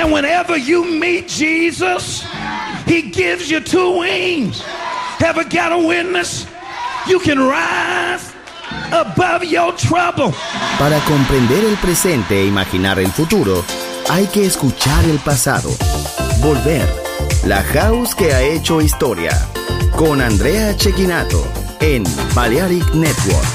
And whenever you meet Jesus, he gives you two wings. Ever got a witness? You can rise above your trouble. Para comprender el presente e imaginar el futuro, hay que escuchar el pasado. Volver. La house que ha hecho historia. Con Andrea Cecchinato en Balearic Network.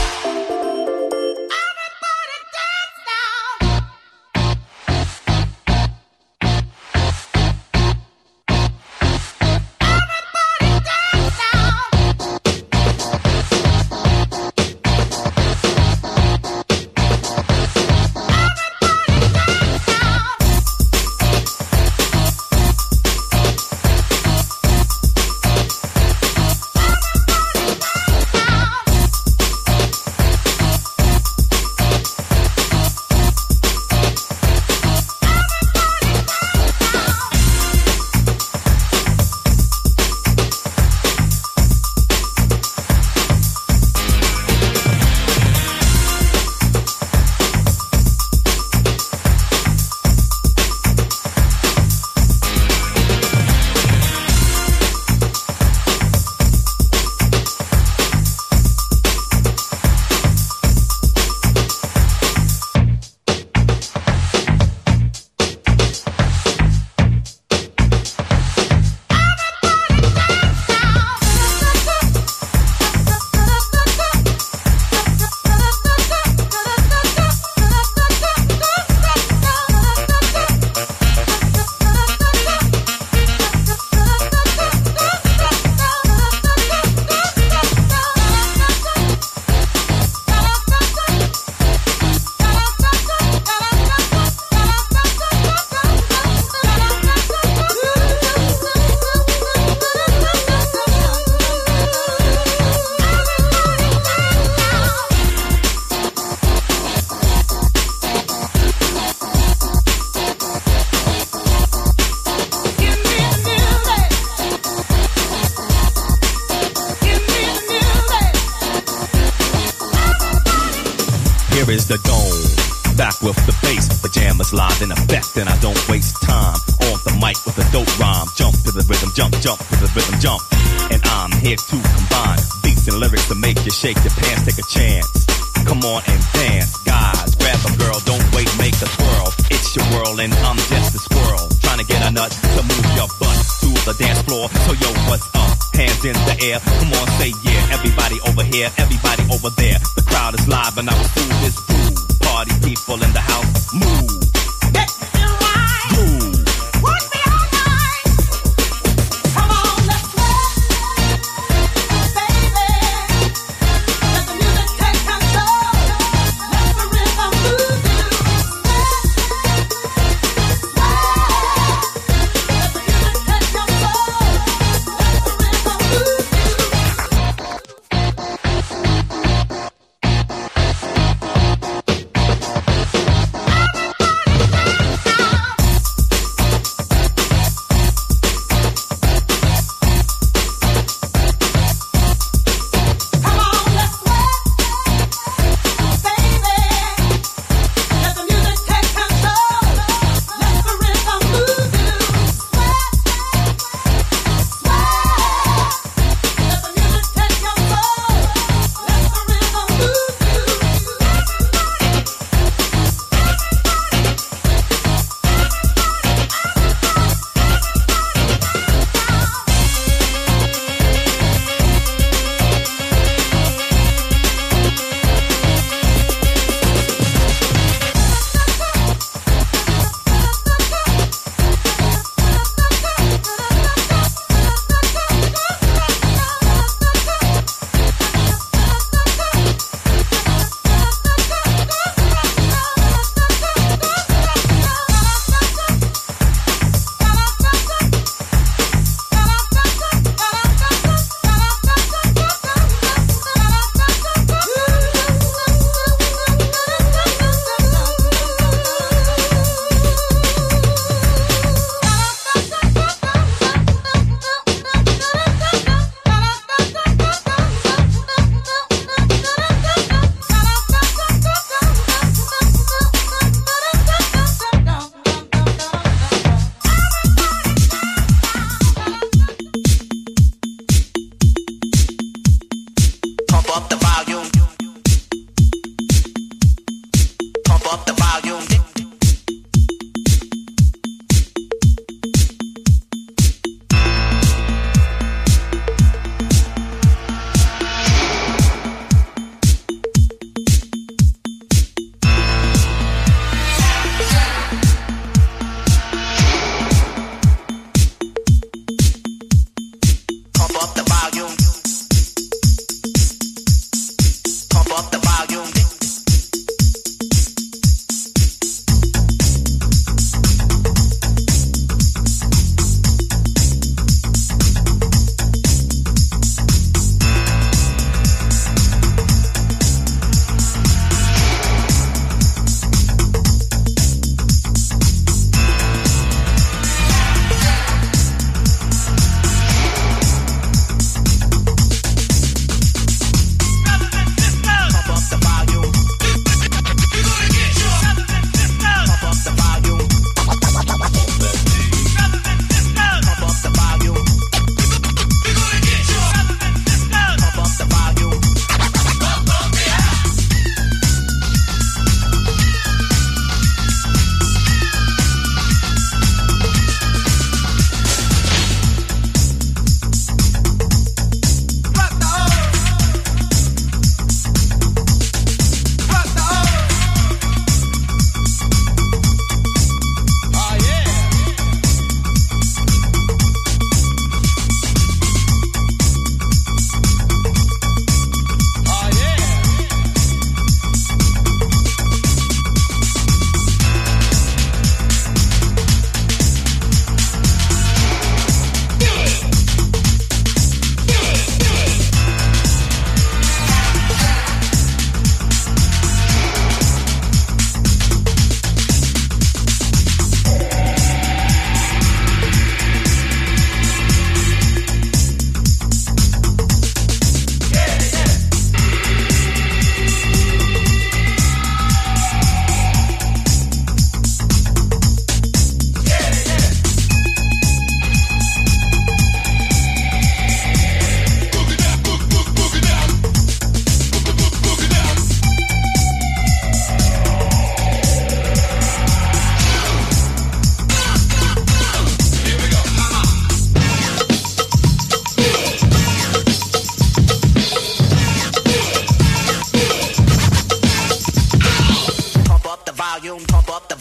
Here is the dome, back with the bass, pajamas live in effect, and I don't waste time on the mic with a dope rhyme. Jump to the rhythm, jump, jump to the rhythm, jump. And I'm here to combine beats and lyrics to make you shake your pants, take a chance. Come on and dance, guys, grab a girl, don't wait, make a twirl. It's your world and I'm just a squirrel, trying to get a nut to move your butt to the dance floor. So yo, what's up? Hands in the air, come on, say yeah. Everybody over here, everybody over there. The crowd is live and I will do this groove. Party people in the house, move. Get you right. Groove. Work me all night. Come on, let's sweat, baby. Let the music take control. Let the rhythm move you. Sweat. Let the music take control. Let the rhythm move you. Everybody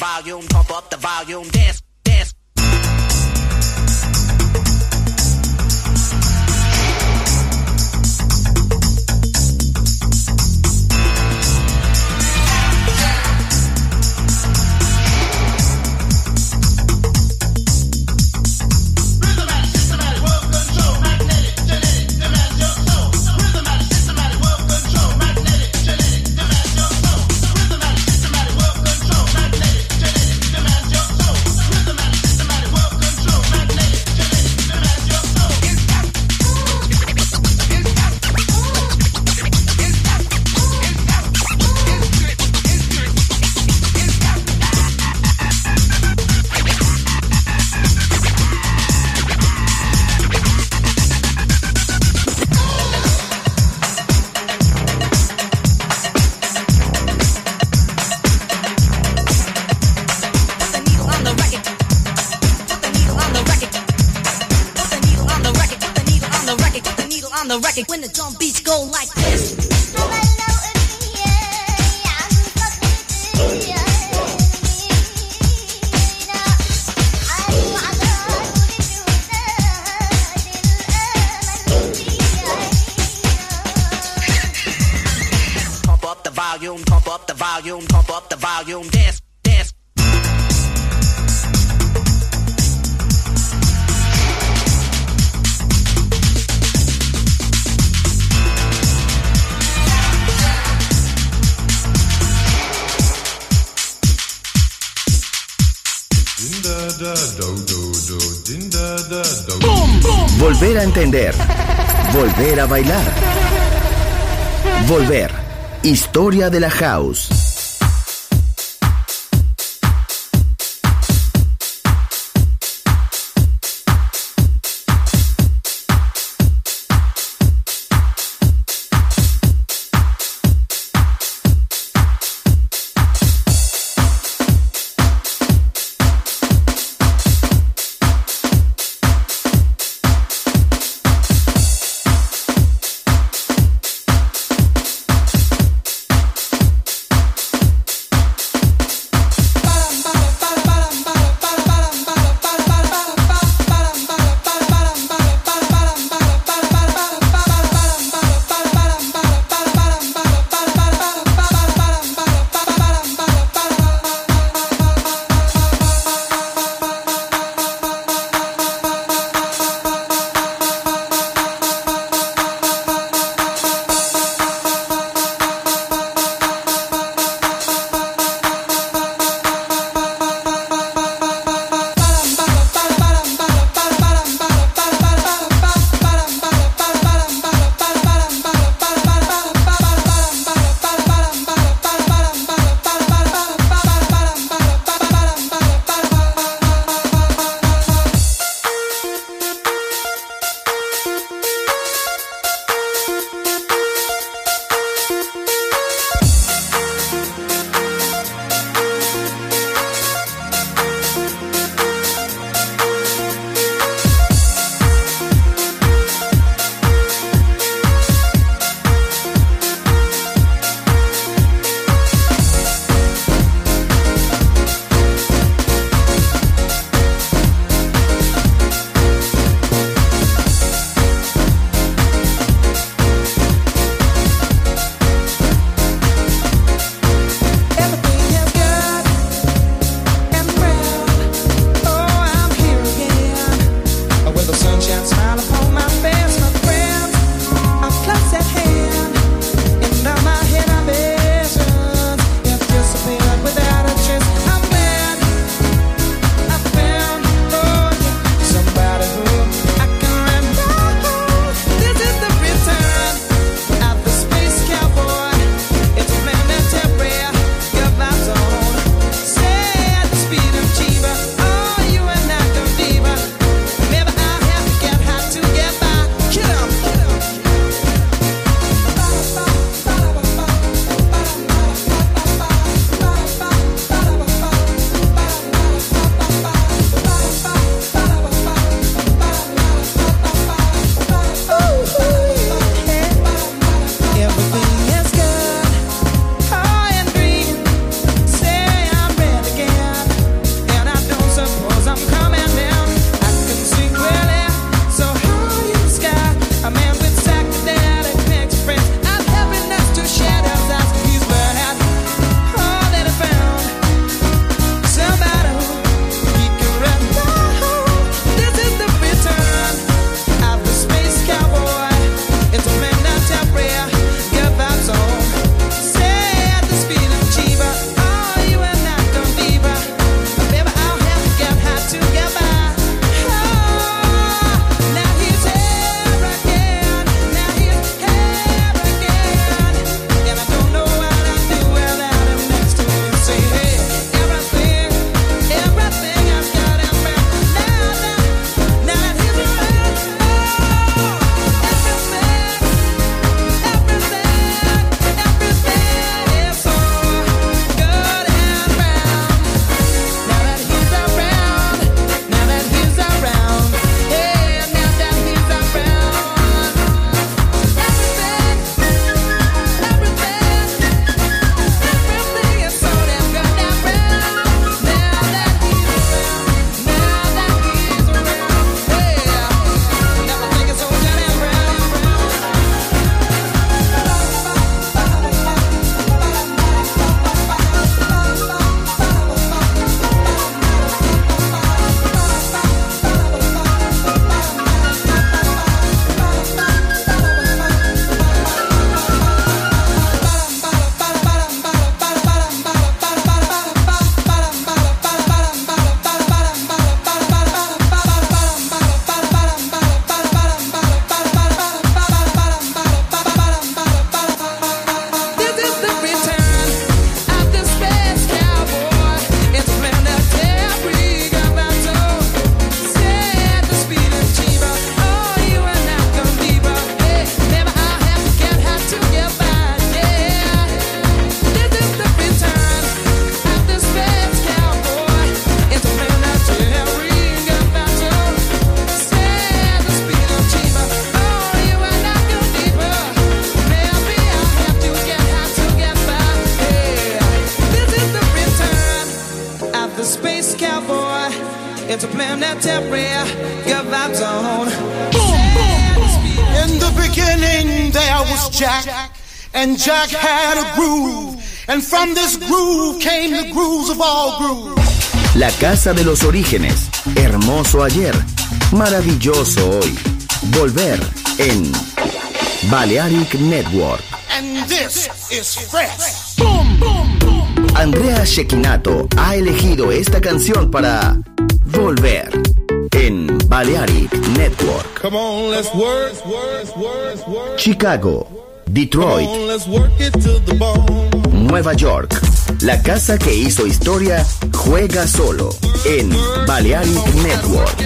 volume, pump up the volume, dance, dance. When the drum beats go like this. Pump up the volume, pump up the volume, pump up the volume, dance, dance. Volver a entender. Volver a bailar. Volver. Historia de la house. the space cowboy interplanetary, good vibes on. Boom, boom, boom. In the beginning there was Jack, and Jack had a groove, and from this groove came the grooves of all grooves. La casa de los orígenes, hermoso ayer, maravilloso hoy. Volver en Balearic Network. And this is fresh. Boom, boom, boom. Andrea Cecchinato ha elegido esta canción para Volver en Balearic Network. Come on, let's work. Chicago, Detroit, Come on, let's work it to the bone. Nueva York. La casa que hizo historia juega solo en Balearic Network.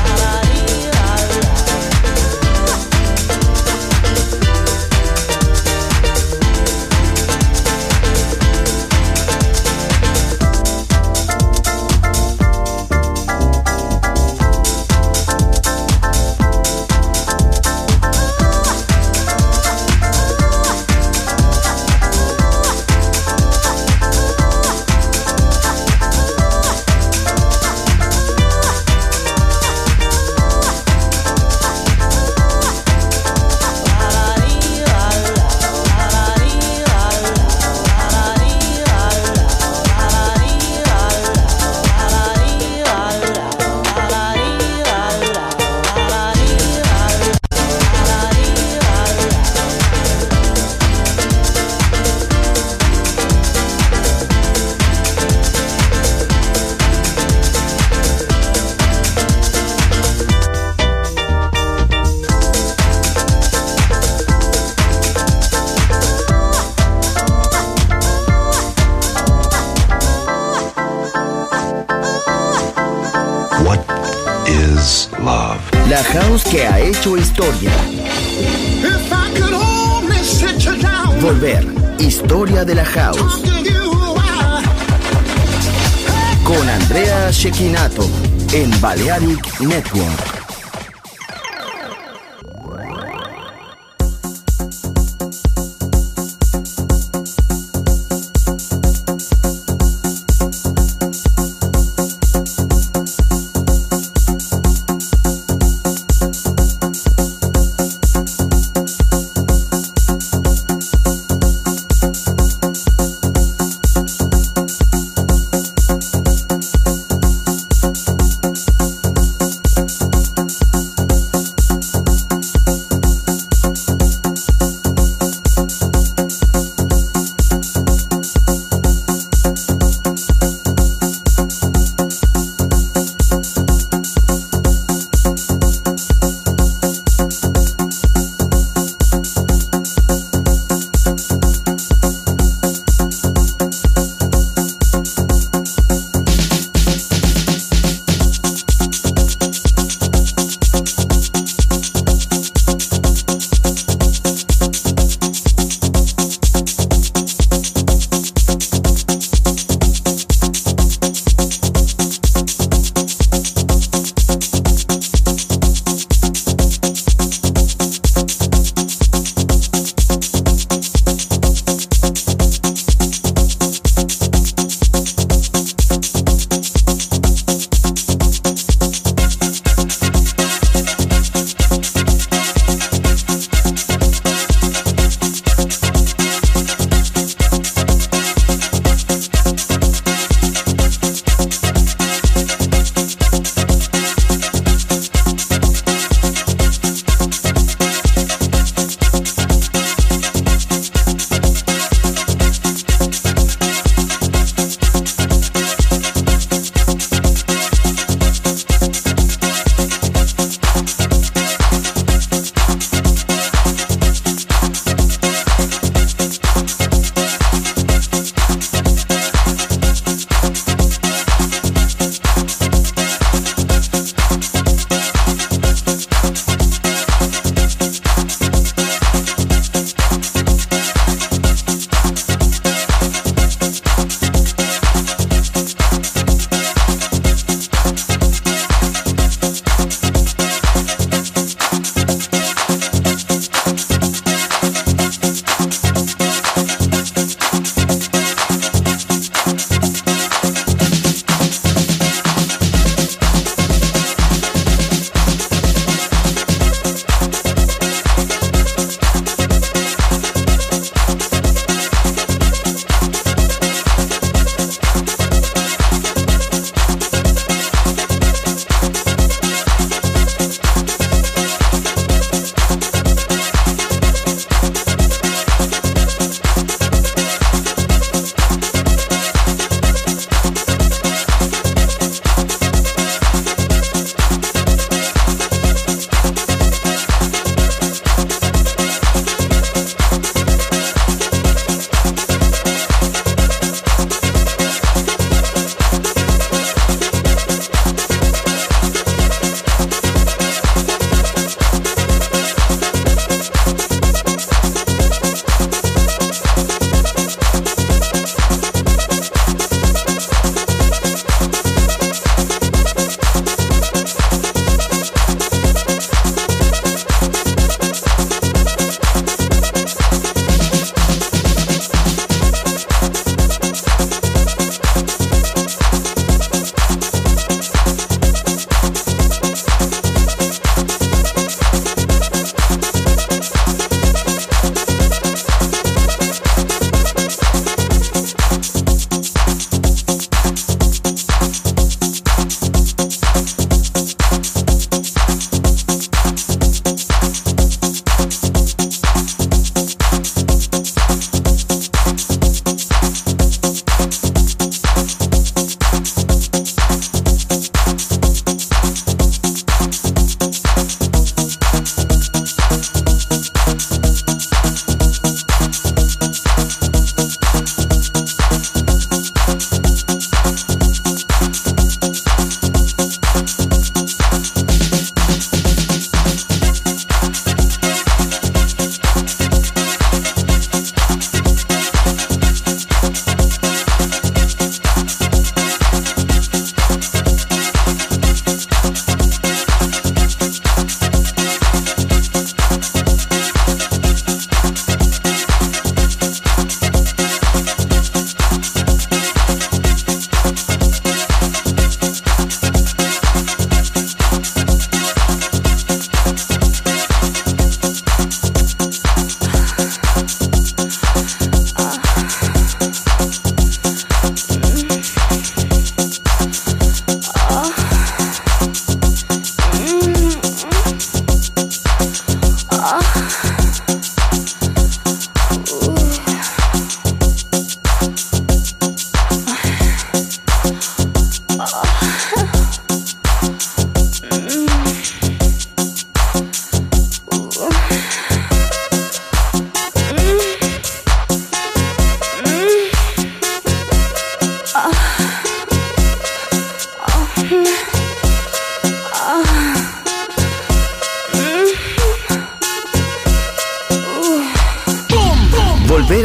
La house que ha hecho historia. Volver, historia de la house. Con Andrea Cecchinato en Balearic Network.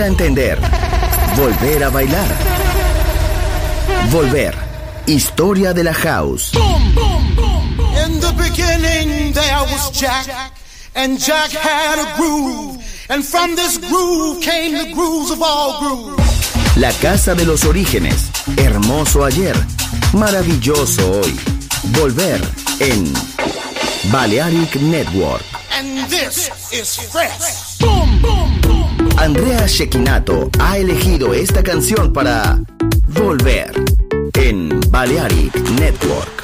a entender. Volver a bailar. Volver. Historia de la house. In the beginning there was Jack, and Jack had a groove, and from this groove came the grooves of all grooves. La casa de los orígenes. Hermoso ayer, maravilloso hoy. Volver en Balearic Network. And this is fresh. Andrea Cecchinato ha elegido esta canción para Volver en Balearic Network.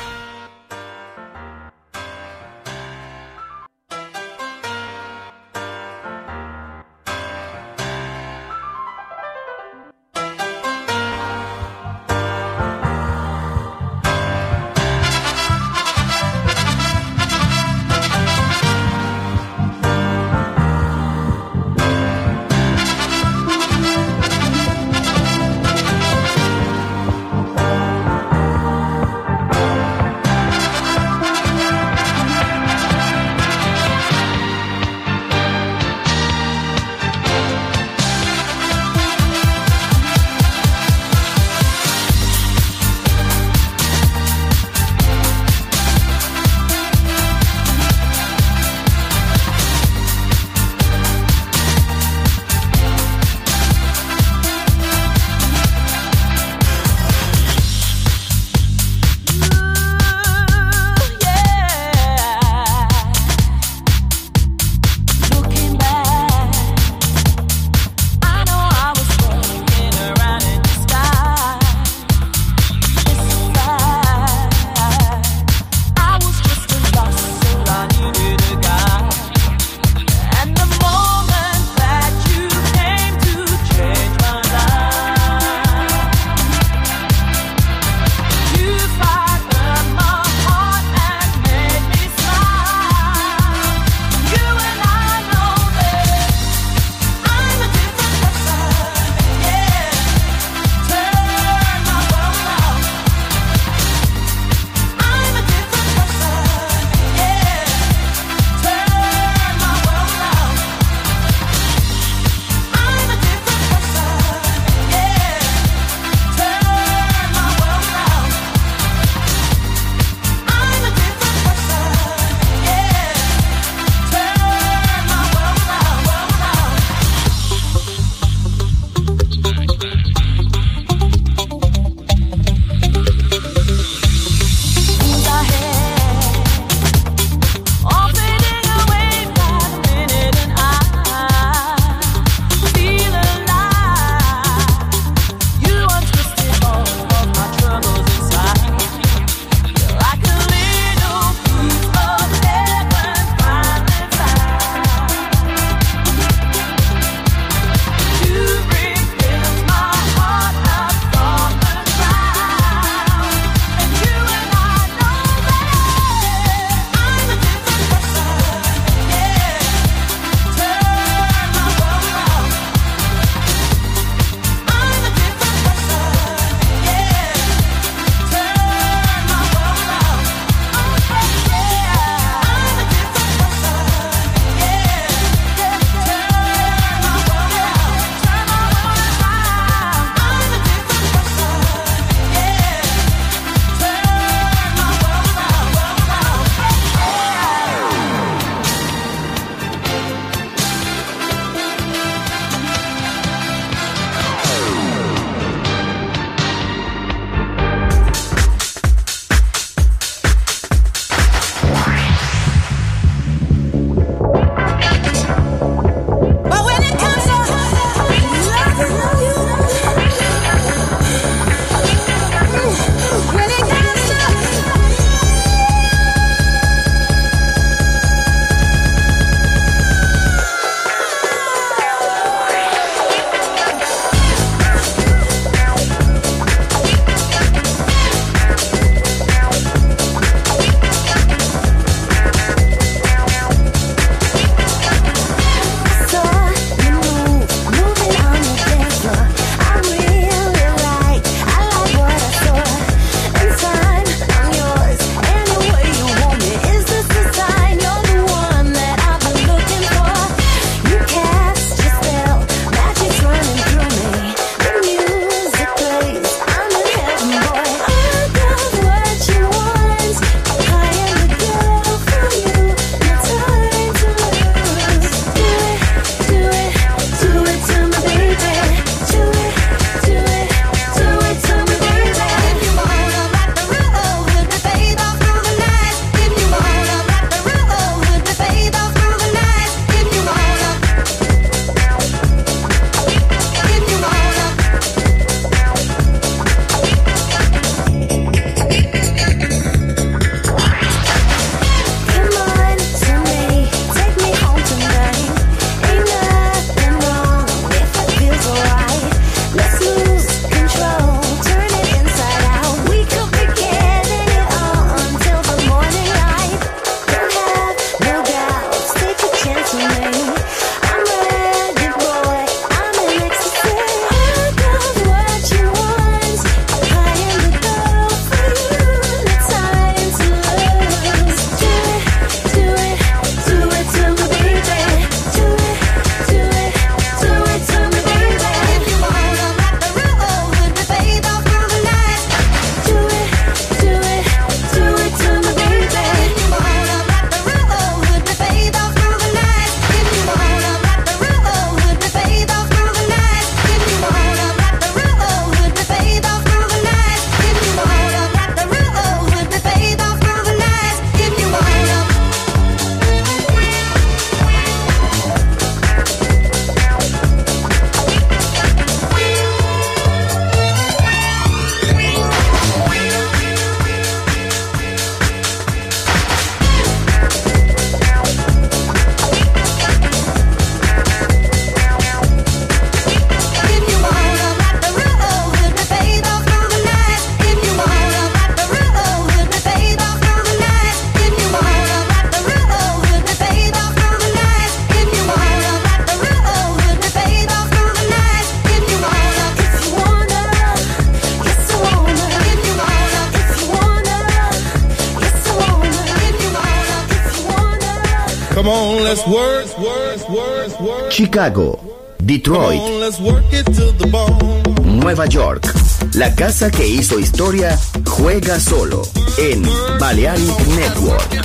Come on, let's work. Chicago, Detroit, Come on, let's work it to the bone. Nueva York. La casa que hizo historia juega solo en Balearic Network.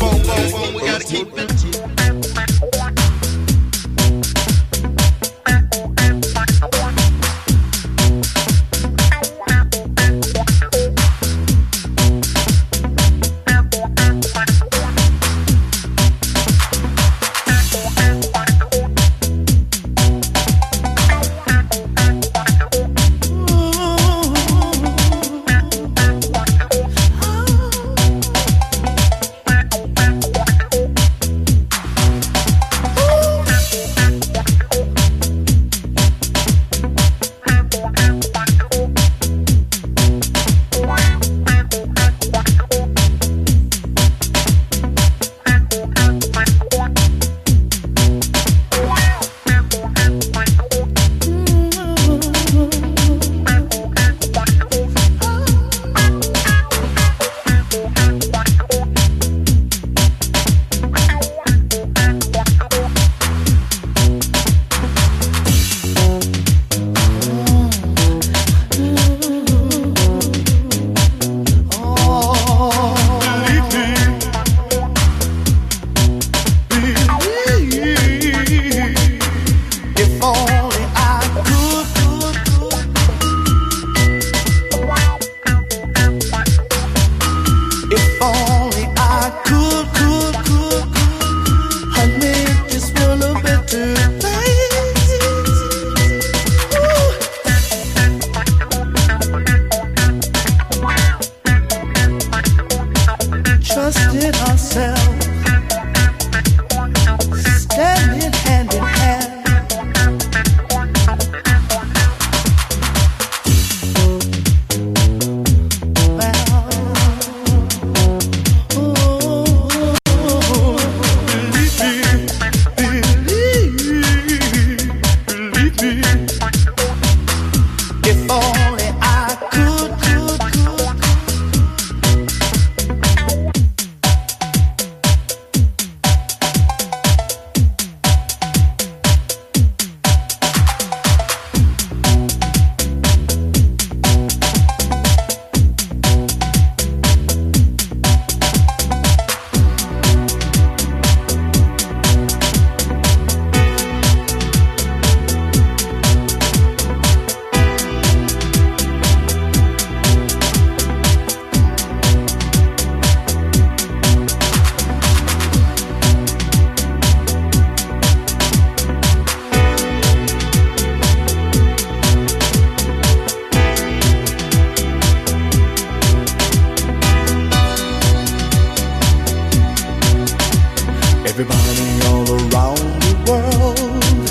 Everybody all around the world,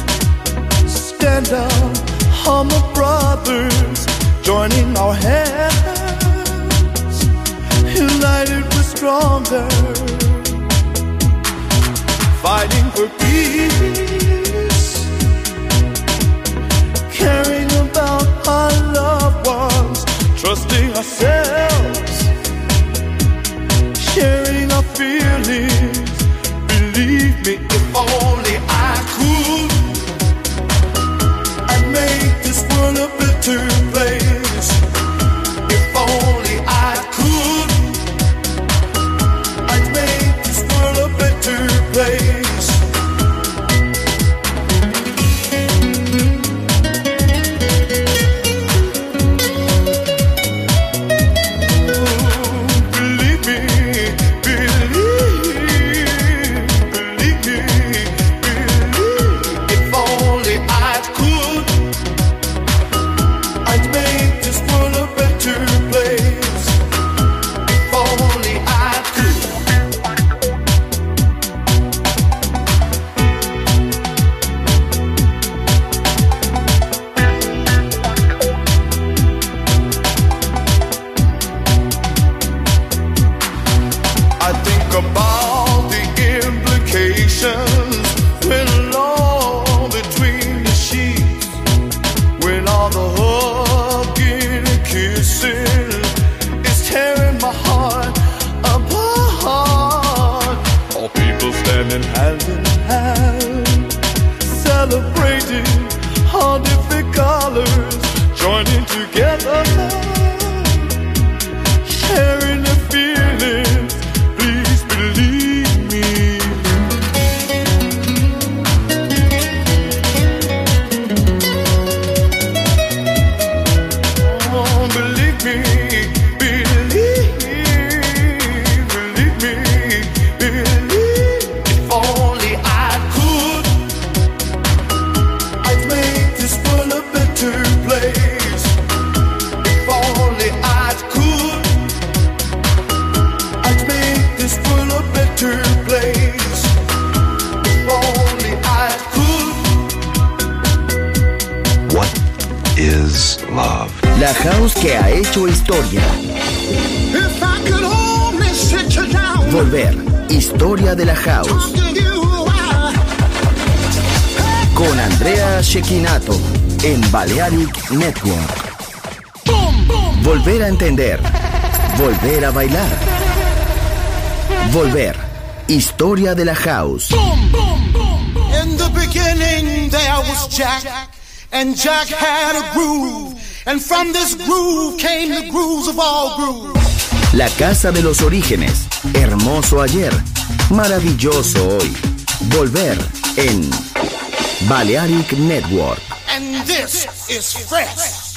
stand up, humble brothers, joining our hands, united we're stronger, fighting for peace, caring about our loved ones, trusting ourselves, sharing our feelings. Believe me, if only I could, I'd make this world a better place. If only I could, I'd make this world a better place. I'd being together, sharing the feelings, please believe me. Oh, believe me, believe me, believe. If only I could, I'd make this world a better place. If only I could, I'd make this world a better place. If only I could. What is love? La house que ha hecho historia. If I could only sit you down. Volver. Historia de la house. Con Andrea Cecchinato en Balearic Network. Volver a entender. Volver a bailar. Volver. Historia de la house. In the beginning there was Jack, and Jack had a groove, and from this groove came the grooves of all grooves. La casa de los orígenes. Hermoso ayer. Maravilloso hoy. Volver en Balearic Network. And this is fresh.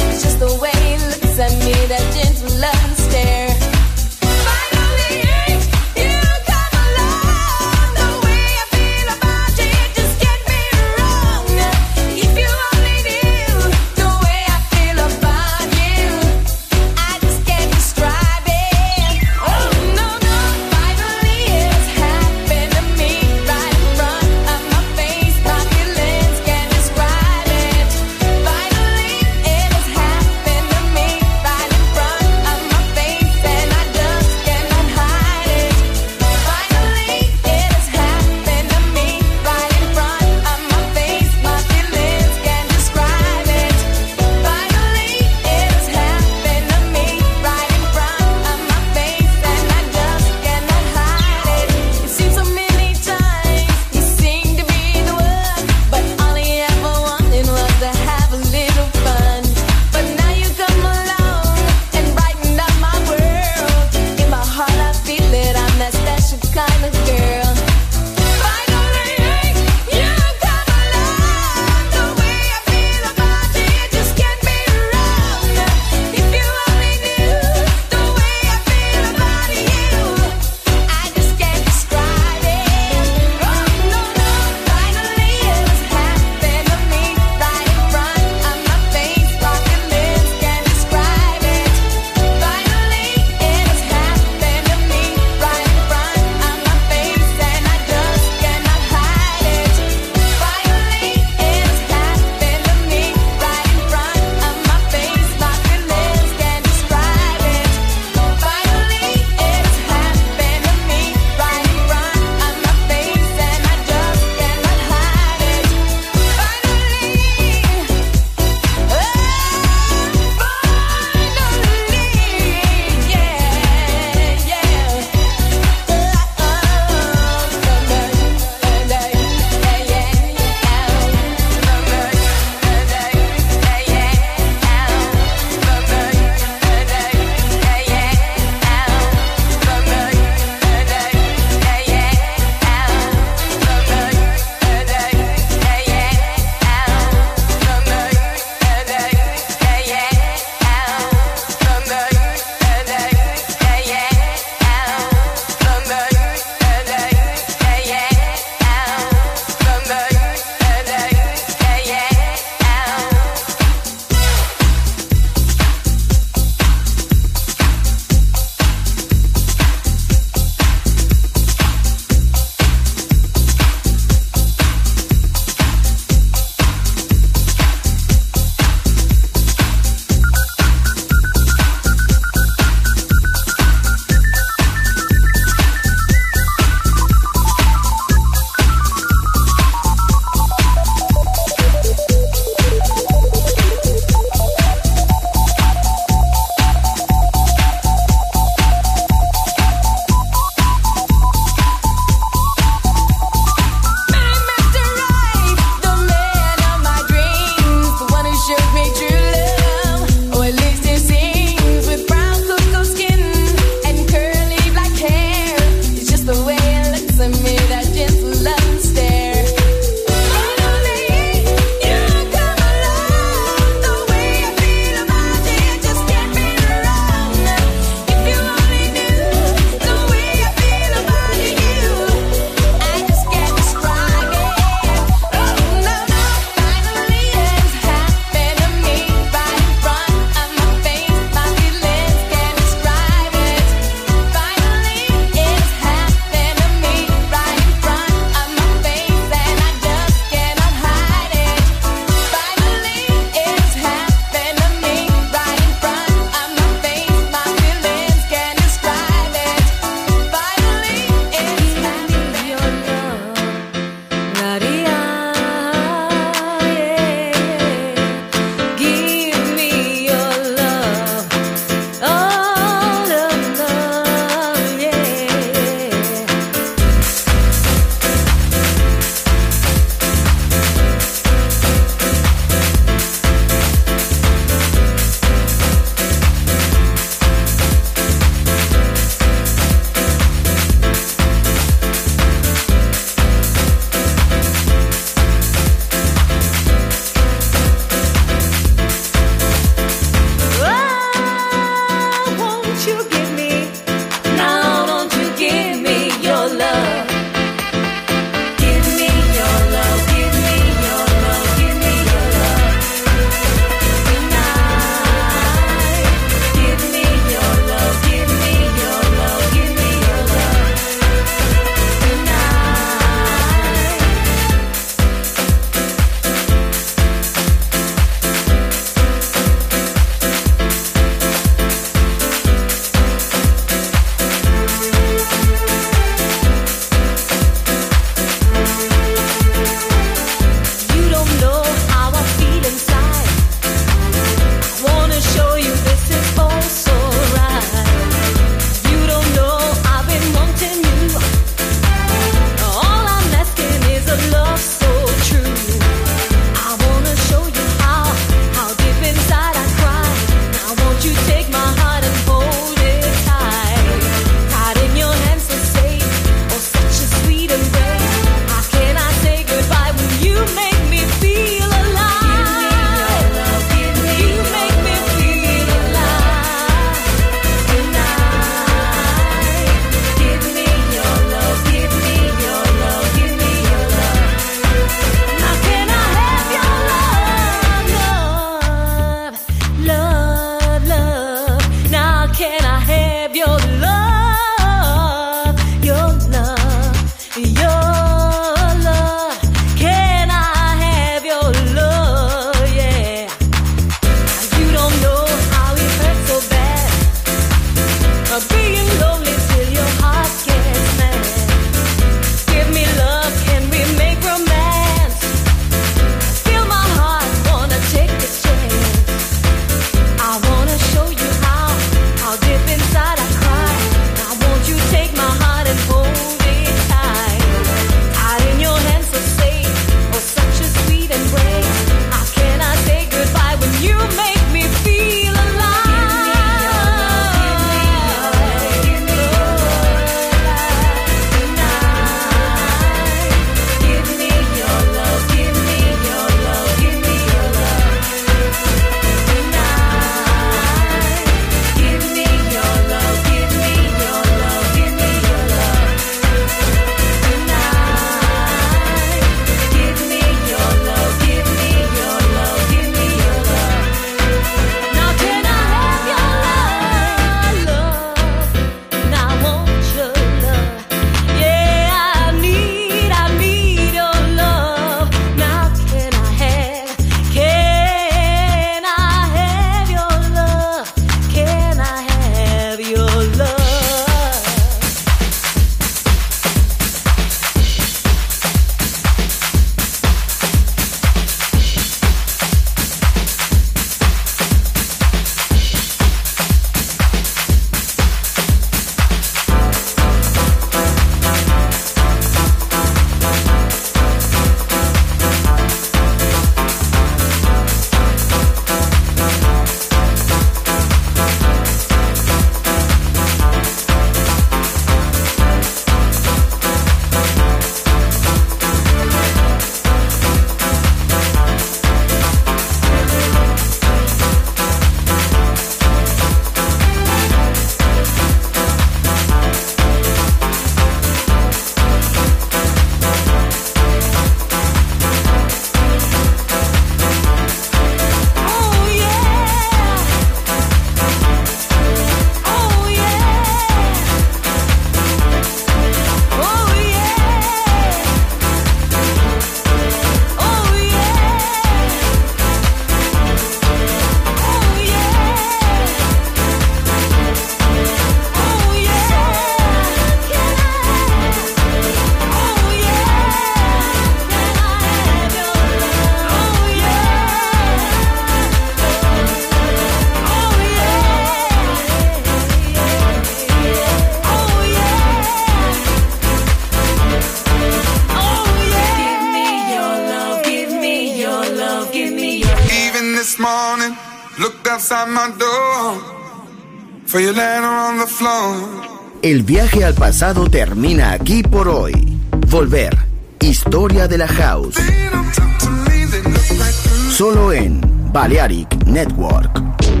outside my door. For you laying on the floor. El viaje al pasado termina aquí por hoy. Volver. Historia de la House. Solo en Balearic Network.